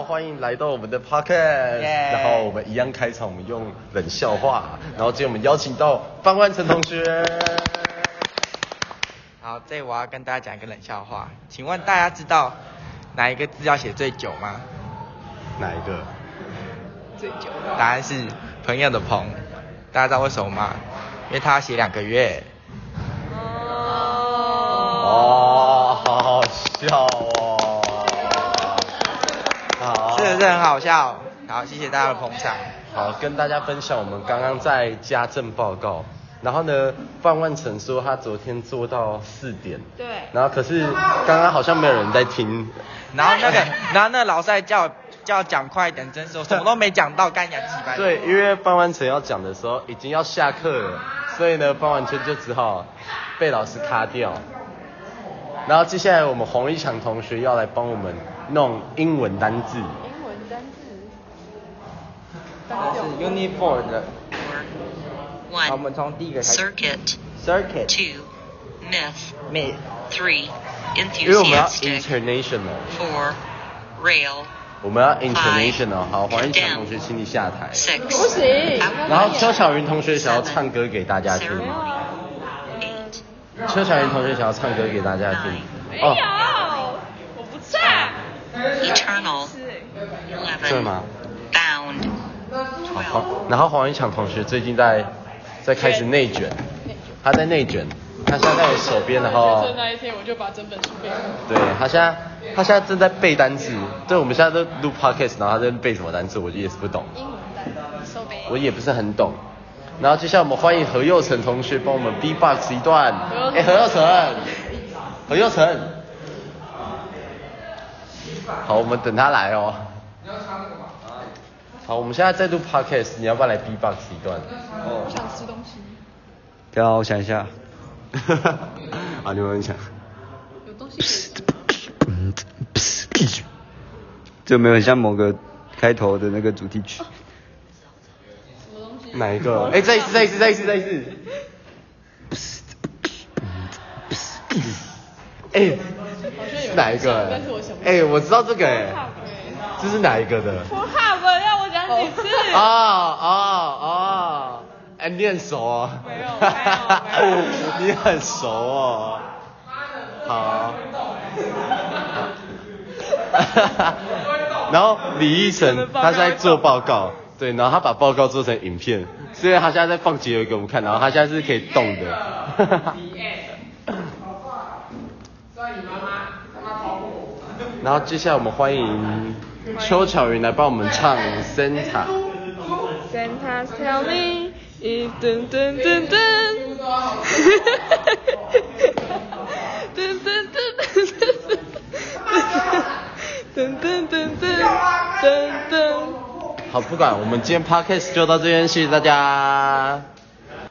欢迎来到我们的 podcast， 然后我们一样开场，我们用冷笑话，然后今天我们邀请到范万成同学。 好，这我要跟大家讲一个冷笑话，请问大家知道哪一个字要写最久吗？ 哪一个？ 最久。 答案是朋友的朋，大家知道为什么吗？因为他要写2个月。 哦，好好笑哦。好， 是不是很好笑？好，谢谢大家的捧场。 好，跟大家分享我们刚刚在家政报告。然后呢，范万成说他昨天做到4点。 对。 然后可是刚刚好像没有人在听。 然后那个老师叫讲快一点，真是我什么都没讲到，干牙鸡掰。 对，因为范万成要讲的时候已经要下课了，所以呢，范万成就只好被老师卡掉。然后接下来我们洪一强同学要来帮我们弄英文单字。 英文单字。 是 Unit 4的。 One. 好，我们从第一个开始。 Circuit. 2. Myth. 3. 因为我们要 Enthusiastic. international。 4. Rail. 我们要 international。好，黄一强同学请你下台。 6. 不行。 然后邱巧云同学想要唱歌给大家听。 Ceremony. 8. 邱巧云同学想要唱歌给大家听。 没有，我不唱。 Eternal. 对 11. 吗？ Bound. 好， 12. 然后黄一强同学最近在开始内卷，他在内卷，他现在在我手边，然后学测那一天我就把整本书背完。 对他现在正在背单字，对，我们现在都录 podcast， 然后他在背什么单字，我也是不懂， 英文单词，手背。 我也不是很懂。然后接下来我们欢迎何佑成同学帮我们 B-box 一段，何佑成，好，我们等他来哦。好，我们现在在录 podcast， 你要不要来 B-box 一段？ 我想吃东西。 等下我想一下。 啊，你们想？ 有东西可以吃吗？ 这有没有很像某个开头的那个主题曲？ 什么东西？ 哪一个？哎，再一次。哎，哪一个？ 但是我想不起哎，我知道这个哎，这是哪一个的？ 我哈不要我讲几次？ 哎，你很熟哦。 没有。 你很熟哦。好。然后李奕晨他现在做报告，对，然后他把报告做成影片，所以他现在在放结尾给我们看，然后他现在是可以动的。然后接下来我们欢迎邱巧云来帮我们唱 Santa。Santa's tell me， 噔噔噔噔，噔噔噔噔。 好，不管，我们今天 podcast 就到这边，谢谢大家。